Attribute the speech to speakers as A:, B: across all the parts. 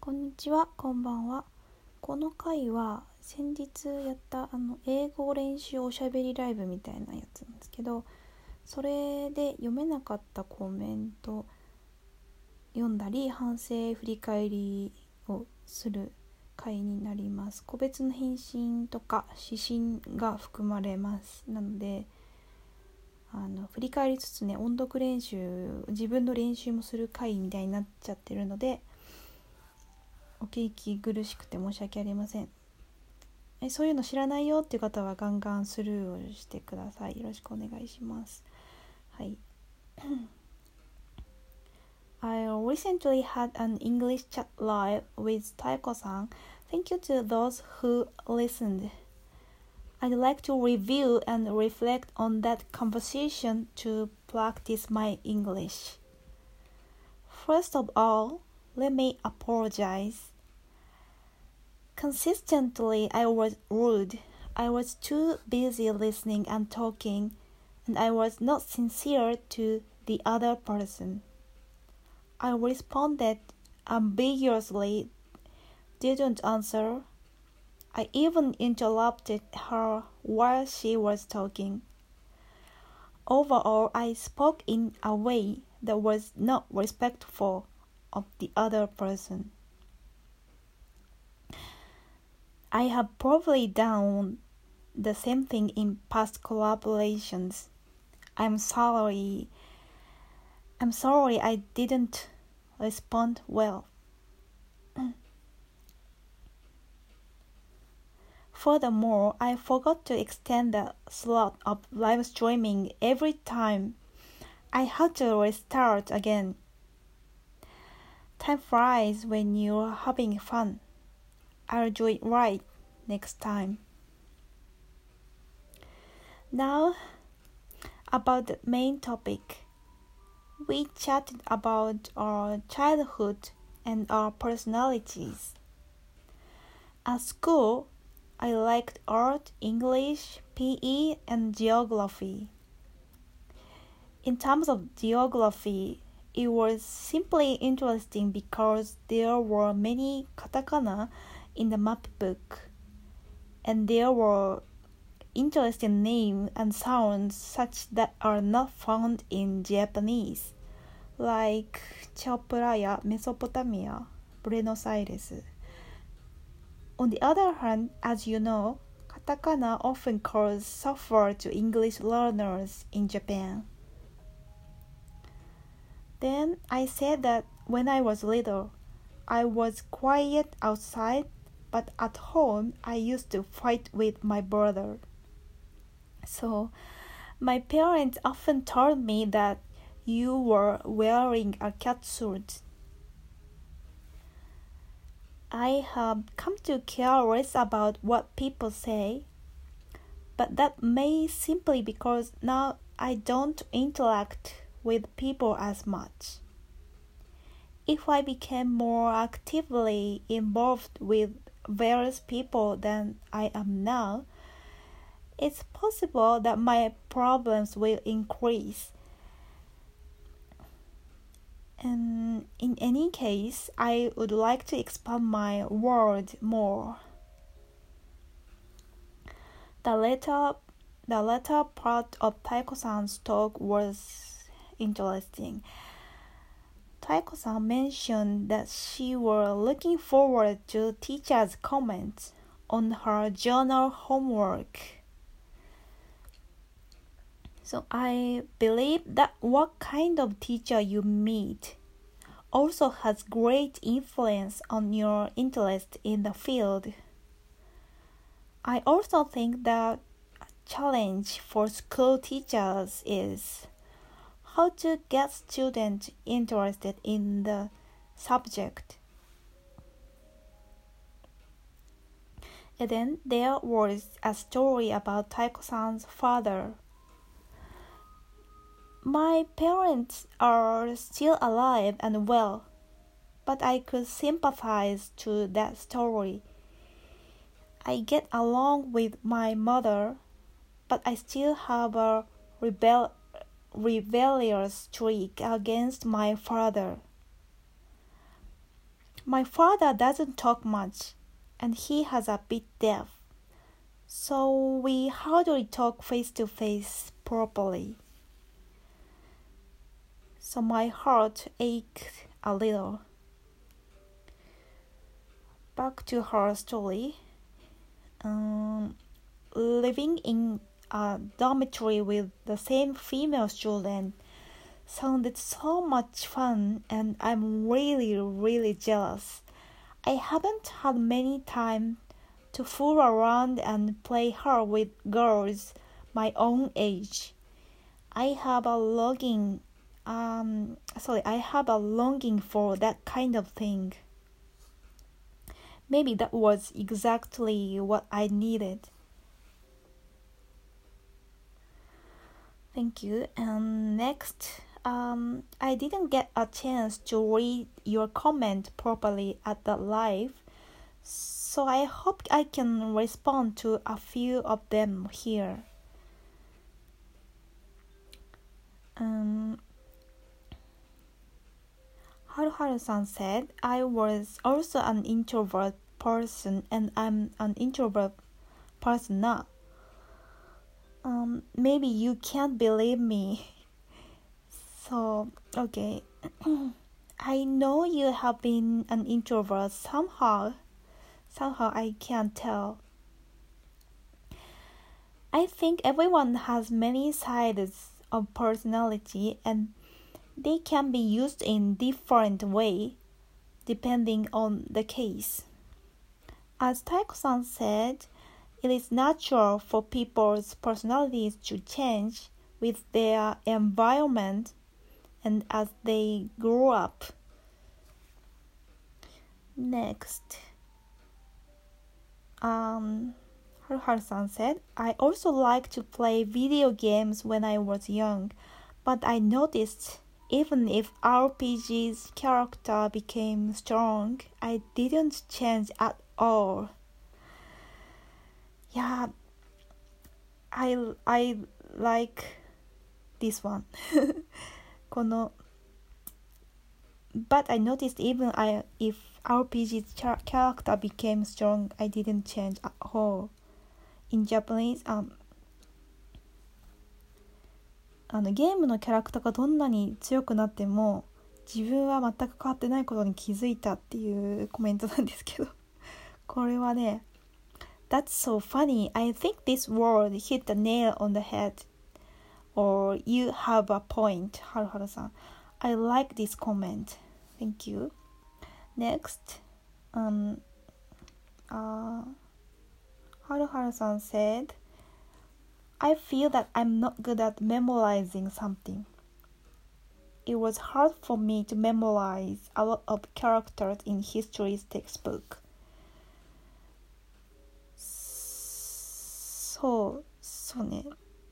A: こんにちは、こんばんは。この回は先日やった英語練習おしゃべりライブみたいなやつなんですけど、それで読めなかったコメント読んだり反省振り返りをする回になります。個別の返信とか指針が含まれます。なので振り返りつつね、音読練習、自分の練習もする回みたいになっちゃってるので、お聞き苦しくて申し訳ありません。そういうの知らないよっていう方はガンガンスルーをしてください。よろしくお願いします。はい。I recently had an English chat live with Taiko-san. Thank you to those who listened. I'd like to review and reflect on that conversation to practice my English. First of all, let me apologize. Consistently, I was rude. I was too busy listening and talking, and I was not sincere to the other person. I responded ambiguously, didn't answer. I even interrupted her while she was talking. Overall, I spoke in a way that was not respectful of the other person. I have probably done the same thing in past collaborations. I'm sorry I didn't respond well. Furthermore, I forgot to extend the slot of live streaming every time. I had to restart again. Time flies when you're having fun. I'll do it right next time. Now, about the main topic. We chatted about our childhood and our personalities. At school, I liked art, English, PE, and geography. In terms of geography, it was simply interesting because there were many katakana in the map book, and there were interesting names and sounds such that are not found in Japanese, like Chao Phraya, Mesopotamia, Buenos Aires. On the other hand, as you know, katakana often causes suffer to English learners in Japan. Then I said that when I was little, I was quiet outside, but at home I used to fight with my brother. So, my parents often told me that you were wearing a catsuit. I have come to care less about what people say, but that may simply because now I don't interact with people as much. If I became more actively involved with various people than I am now, it's possible that my problems will increase. And in any case, I would like to expand my world more. The latter part of Taiko-san's talk was interesting. Taiko-san mentioned that she was looking forward to teachers' comments on her journal homework. So I believe that what kind of teacher you meet also has great influence on your interest in the field. I also think that a challenge for school teachers is how to get students interested in the subject. And then there was a story about Taiko-san's father. My parents are still alive and well, but I could sympathize to that story. I get along with my mother, but I still have a rebellious streak against my father. My father doesn't talk much, and he has a bit deaf, so we hardly talk face to face properly. So my heart ached a little. Back to her story. Living in a dormitory with the same female student sounded so much fun, and I'm really jealous. I haven't had many time to fool around and play hard with girls my own age. I have a longing for that kind of thing. Maybe that was exactly what I needed. Thank you. And next, I didn't get a chance to read your comment properly at the live, so I hope I can respond to a few of them here. Haruharu-san said, I was also an introvert person and I'm an introvert person now. Maybe you can't believe me. So, okay. I know you have been an introvert somehow. Somehow I can't tell. I think everyone has many sides of personality and they can be used in different way depending on the case. As Taiko-san said, it is natural for people's personalities to change with their environment and as they grow up. Next, Haruharu-san said, I also liked to play video games when I was young, but I noticed even if RPG's character became strong, I didn't change at all. Yeah, I like this one. この But I noticed even if RPG's character became strong, I didn't change at all. In Japanese, ゲームのキャラクターがどんなに強くなっても自分は全く変わってないことに気づいたっていうコメントなんですけどこれはね That's so funny. I think this word hit the nail on the head. Or you have a point, Haruharu-san. I like this comment. Thank you. Next, Haruharu-san said, I feel that I'm not good at memorizing something. It was hard for me to memorize a lot of characters in history's textbook. Soね.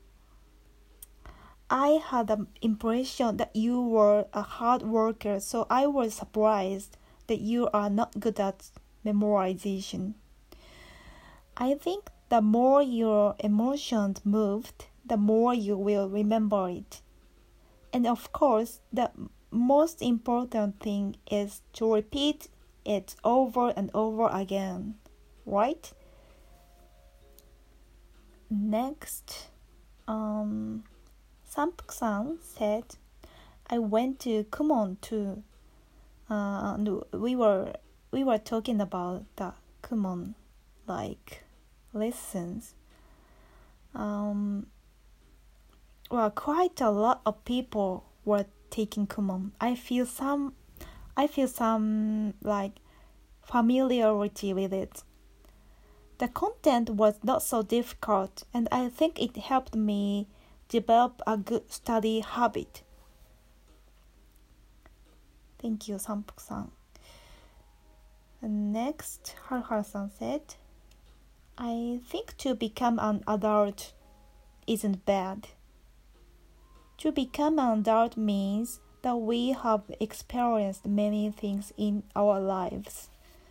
A: I had the impression that you were a hard worker, so I was surprised that you are not good at memorization. I think the more your emotions moved, the more you will remember it. And of course, the most important thing is to repeat it over and over again, right? Next, Sampuk-san said, I went to Kumon too. We were talking about the Kumon like lessons. Well, quite a lot of people were taking Kumon. I feel some like familiarity with it. The content was not so difficult, and I think it helped me develop a good study habit. Thank you, Sampuk-san. And next, Haruharu-san said, I think to become an adult isn't bad. To become an adult means that we have experienced many things in our lives.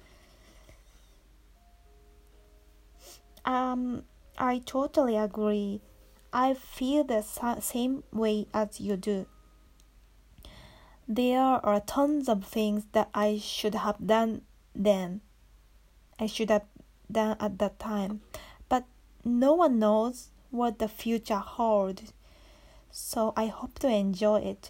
A: I totally agree. I feel the same way as you do. There are tons of things that I should have done then. I should have done at that time. But no one knows what the future holds. So I hope to enjoy it.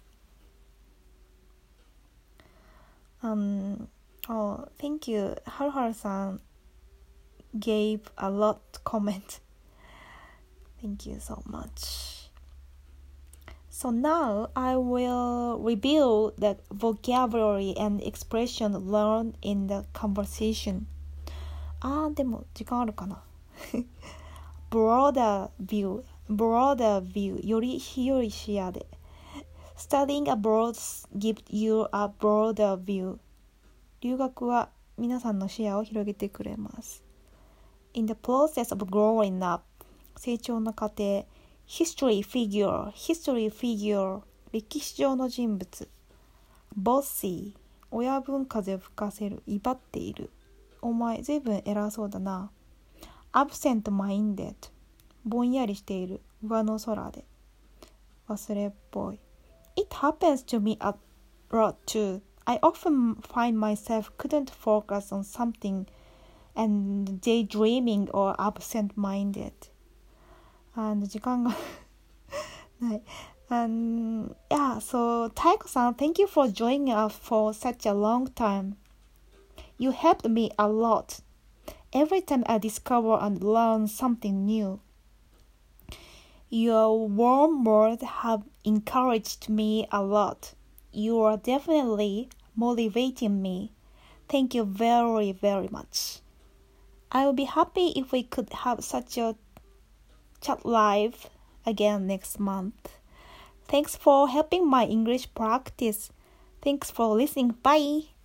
A: Thank you. Haruharu-san gave a lot comment. Thank you so much. So now I will review the vocabulary and expression learned in the conversation. でも時間あるかなbroader view より広い視野で Studying abroad gives you a broader view 留学は皆さんの視野を広げてくれます In the process of growing up 成長の過程 History figure 歴史上の人物 Bossy 親分風を吹かせる威張っているお前ずいぶん偉そうだな Absent-minded ぼんやりしている上の空で忘れっぽい It happens to me a lot too I often find myself couldn't focus on something and daydreaming or absent-minded 時間がない Yeah, so Taiko-san, thank you for joining us for such a long time. You helped me a lot. Every time I discover and learn something new. Your warm words have encouraged me a lot. You are definitely motivating me. Thank you very, very much. I will be happy if we could have such a chat live again next month. Thanks for helping my English practice. Thanks for listening. Bye.